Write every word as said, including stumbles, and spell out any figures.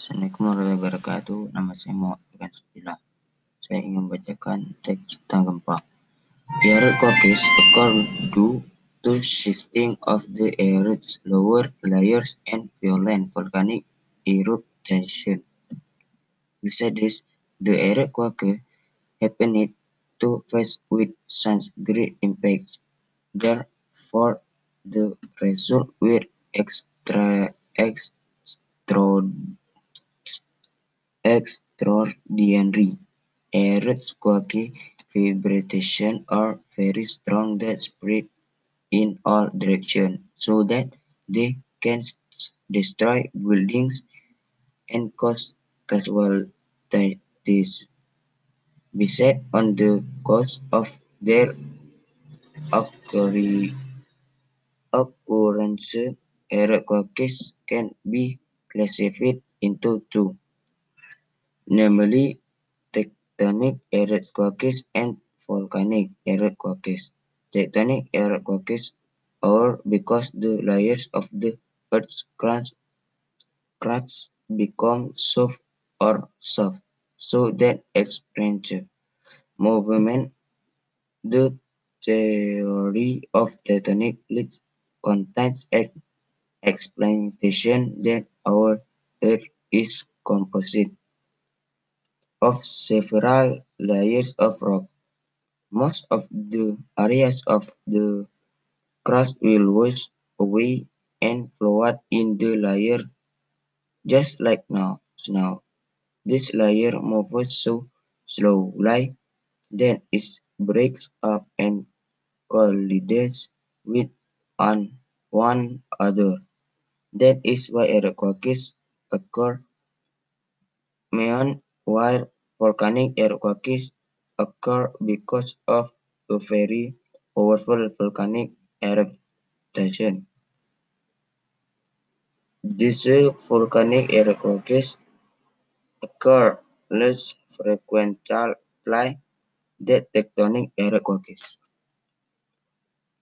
Assalamualaikum warahmatullahi wabarakatuh. Nama saya Muhammad Sudila. Saya ingin membacakan teks tentang gempa. The earthquakes occur due to shifting of the Earth's lower layers and violent volcanic eruption. Besides this, the earthquake happened to face with such great impact. Therefore, the result were extra extra extraordinary. Earthquake vibrations are very strong that spread in all directions, so that they can destroy buildings and cause casualties. Besides, on the cause of their occurrence, earthquakes can be classified into two, namely tectonic earthquakes and volcanic earthquakes. Tectonic earthquakes occur because the layers of the Earth's crust, crust become soft or soft, so that experience movement. The theory of tectonic plates contains an explanation that our Earth is composite of several layers of rock. Most of the areas of the crust will wash away and float in the layer just like now. Now, this layer moves so slowly that it breaks up and collides with on one another. That is why earthquakes occur. Meanwhile, volcanic earthquakes occur because of a very powerful volcanic eruption. These volcanic earthquakes occur less frequently than tectonic earthquakes.